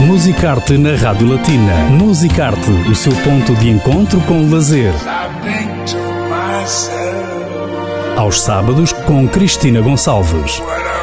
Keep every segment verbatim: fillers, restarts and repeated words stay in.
Musicarte na Rádio Latina. Musicarte, o seu ponto de encontro com o lazer. Aos sábados, com Cristina Gonçalves.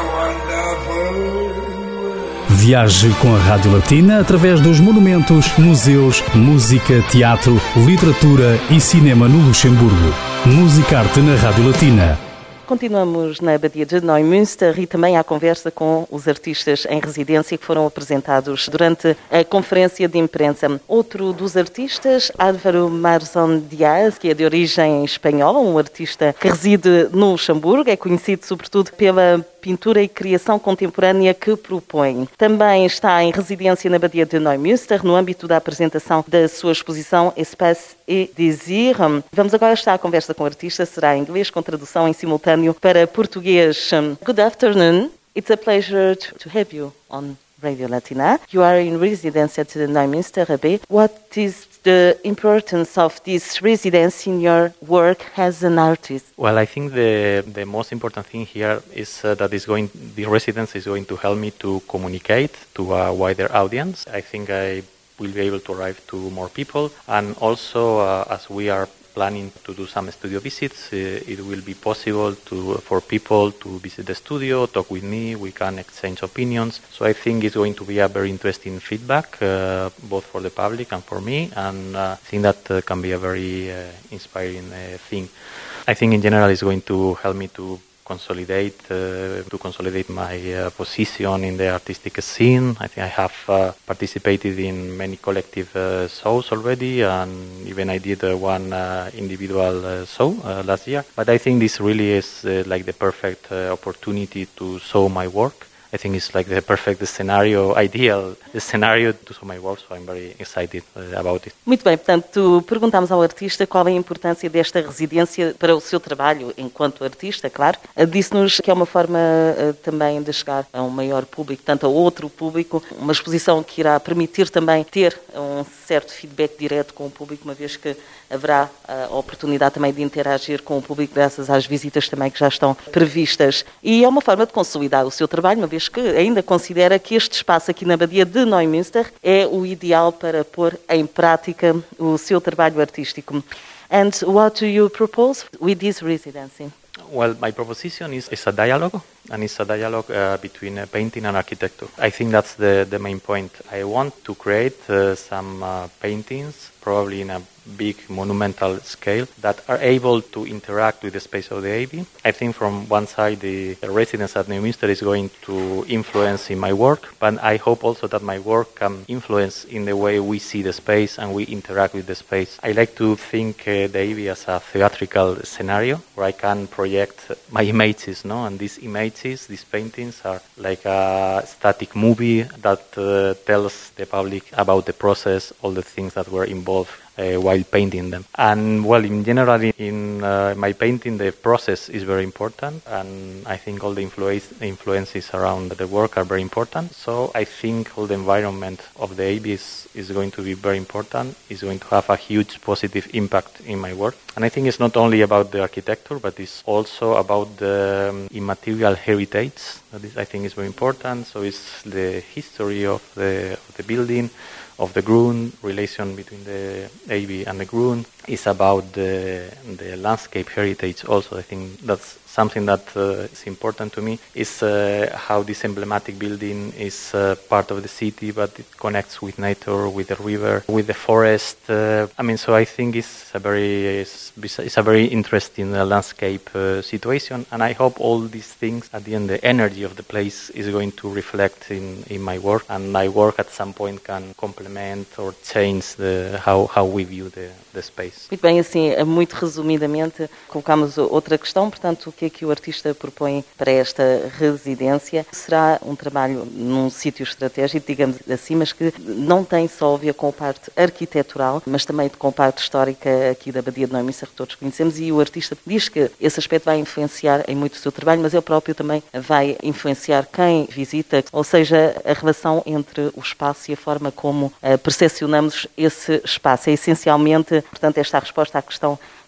Viaje com a Rádio Latina através dos monumentos, museus, música, teatro, literatura e cinema no Luxemburgo. Musicarte na Rádio Latina. Continuamos na Abadia de Neumünster e também à conversa com os artistas em residência que foram apresentados durante a conferência de imprensa. Outro dos artistas, Álvaro Marzón Díaz, que é de origem espanhola, um artista que reside no Luxemburgo, é conhecido sobretudo pela pintura e criação contemporânea que propõe. Também está em residência na Abadia de Neumünster, no âmbito da apresentação da sua exposição Espace et Désir. Vamos agora estar à conversa com o artista, será em inglês com tradução em simultâneo para português. Good afternoon. It's a pleasure to have you on Radio Latina. You are in residence at the Neumünster Abbey. What is the importance of this residence in your work as an artist? Well, I think the the most important thing here is uh, that is going the residence is going to help me to communicate to a wider audience. I think I will be able to arrive to more people, and also uh, as we are planning to do some studio visits, uh, it will be possible to for people to visit the studio, talk with me, we can exchange opinions. So I think it's going to be a very interesting feedback, uh, both for the public and for me, and uh, I think that uh, can be a very uh, inspiring uh, thing. I think in general it's going to help me to consolidate uh, to consolidate my uh, position in the artistic scene. I think I have uh, participated in many collective uh, shows already, and even I did uh, one uh, individual uh, show uh, last year. But I think this really is uh, like the perfect uh, opportunity to show my work. I think it's like the perfect scenario, ideal scenario to show my work, so I'm very excited uh, about it. Muito bem, portanto, perguntámos ao artista qual é a importância desta residência para o seu trabalho enquanto artista, claro. Disse-nos que é uma forma uh, também de chegar a um maior público, tanto a outro público, uma exposição que irá permitir também ter um certo feedback direto com o público, uma vez que haverá a oportunidade também de interagir com o público graças às visitas também que já estão previstas. E é uma forma de consolidar o seu trabalho, uma vez que ainda considera que este espaço aqui na Abadia de Neumünster é o ideal para pôr em prática o seu trabalho artístico. And what do you propose with this residency? Well, my proposition is, is a dialogue, and it's a dialogue uh, between uh, painting and architecture. I think that's the, the main point. I want to create uh, some uh, paintings, probably in a big monumental scale, that are able to interact with the space of the Abbey. I think from one side the, the residence at Neumünster is going to influence in my work, but I hope also that my work can influence in the way we see the space and we interact with the space. I like to think uh, the Abbey as a theatrical scenario where I can project my images, no? And these images, these paintings are like a static movie that uh, tells the public about the process, all the things that were involved Uh, while painting them. And well, in general, in uh, my painting, the process is very important, and I think all the influ- influences around the work are very important. So I think all the environment of the Abbey is, is going to be very important, is going to have a huge positive impact in my work. And I think it's not only about the architecture, but it's also about the um, immaterial heritage. That is, I think is very important. So it's the history of the, of the building, of the Grun, relation between the Abbey and the Grun. It's about the, the landscape heritage also. I think that's something that uh, is important to me, is uh, how this emblematic building is uh, part of the city, but it connects with nature, with the river, with the forest. Uh, I mean, so I think it's a very it's, it's a very interesting uh, landscape uh, situation, and I hope all these things, at the end, the energy of the place is going to reflect in, in my work, and my work at some point can complement or change the, how, how we view the, the space. Muito bem, assim, muito resumidamente, colocamos outra questão, portanto, o que é que o artista propõe para esta residência? Será um trabalho num sítio estratégico, digamos assim, mas que não tem só a ver com a parte arquitetural, mas também com a parte histórica aqui da Abadia de Neumünster, que todos conhecemos, e o artista diz que esse aspecto vai influenciar em muito o seu trabalho, mas ele próprio também vai influenciar quem visita, ou seja, a relação entre o espaço e a forma como uh, percepcionamos esse espaço. É essencialmente, portanto, esta resposta à questão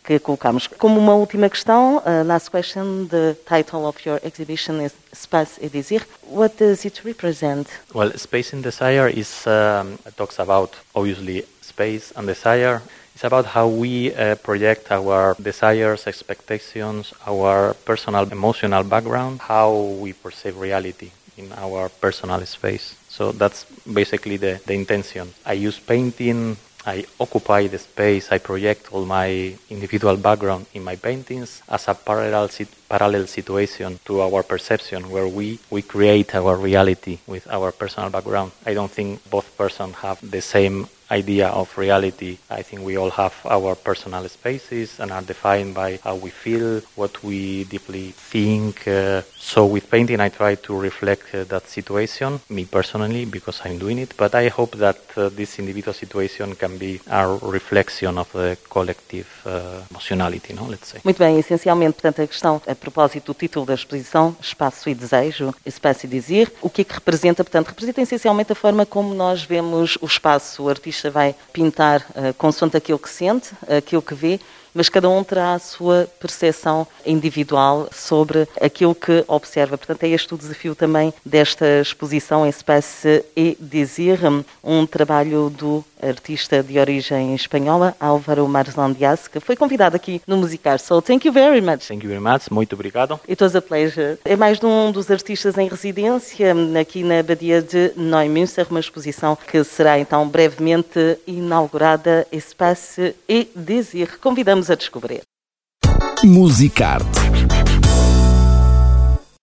que colocamos. Como uma última questão, uh, last question, the title of your exhibition is Espace et Désir. What does it represent? Well, Space and Desire is um, talks about, obviously, space and desire. It's about how we uh, project our desires, expectations, our personal emotional background, how we perceive reality in our personal space. So that's basically the, the intention. I use painting, I occupy the space, I project all my individual background in my paintings as a parallel parallel situation to our perception, where we, we create our reality with our personal background. I don't think both persons have the same idea of reality. I think we all have our personal spaces and are defined by how we feel, what we deeply think. Uh, so with painting I try to reflect uh, that situation, me personally, because I'm doing it, but I hope that uh, this individual situation can be a reflection of the collective uh, emotionality, no? Let's say. Muito bem, essencialmente, portanto, a questão, a propósito do título da exposição, Espaço e Desejo, Espace et Désir, o que é que representa? Portanto, representa essencialmente a forma como nós vemos o espaço. O artista vai pintar uh, consoante aquilo que sente, aquilo que vê, mas cada um terá a sua percepção individual sobre aquilo que observa. Portanto, é este o desafio também desta exposição Espace et Désir, um trabalho do artista de origem espanhola, Álvaro Marzón Diaz, que foi convidado aqui no Musicar. So, thank you very much. Thank you very much. Muito obrigado. It was a pleasure. É mais de um dos artistas em residência aqui na Abadia de Neumünster, uma exposição que será então brevemente inaugurada, Espace et Désir. Convidamos a descobrir. Musicarte.